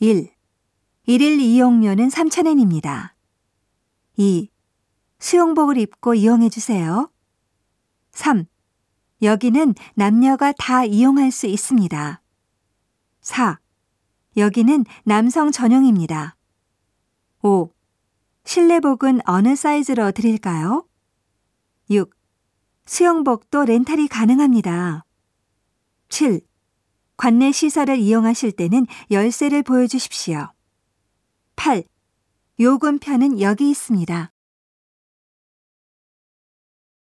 1. 일일 이용료는 3,000엔입니다. 2. 수영복을 입고 이용해 주세요. 3. 여기는 남녀가 다 이용할 수 있습니다. 4. 여기는 남성 전용입니다. 5. 실내복은 어느 사이즈로 드릴까요? 6. 수영복도 렌탈이 가능합니다. 7. 관내 시설을 이용하실 때는 열쇠를 보여주십시오. 8. 요금표는 여기 있습니다.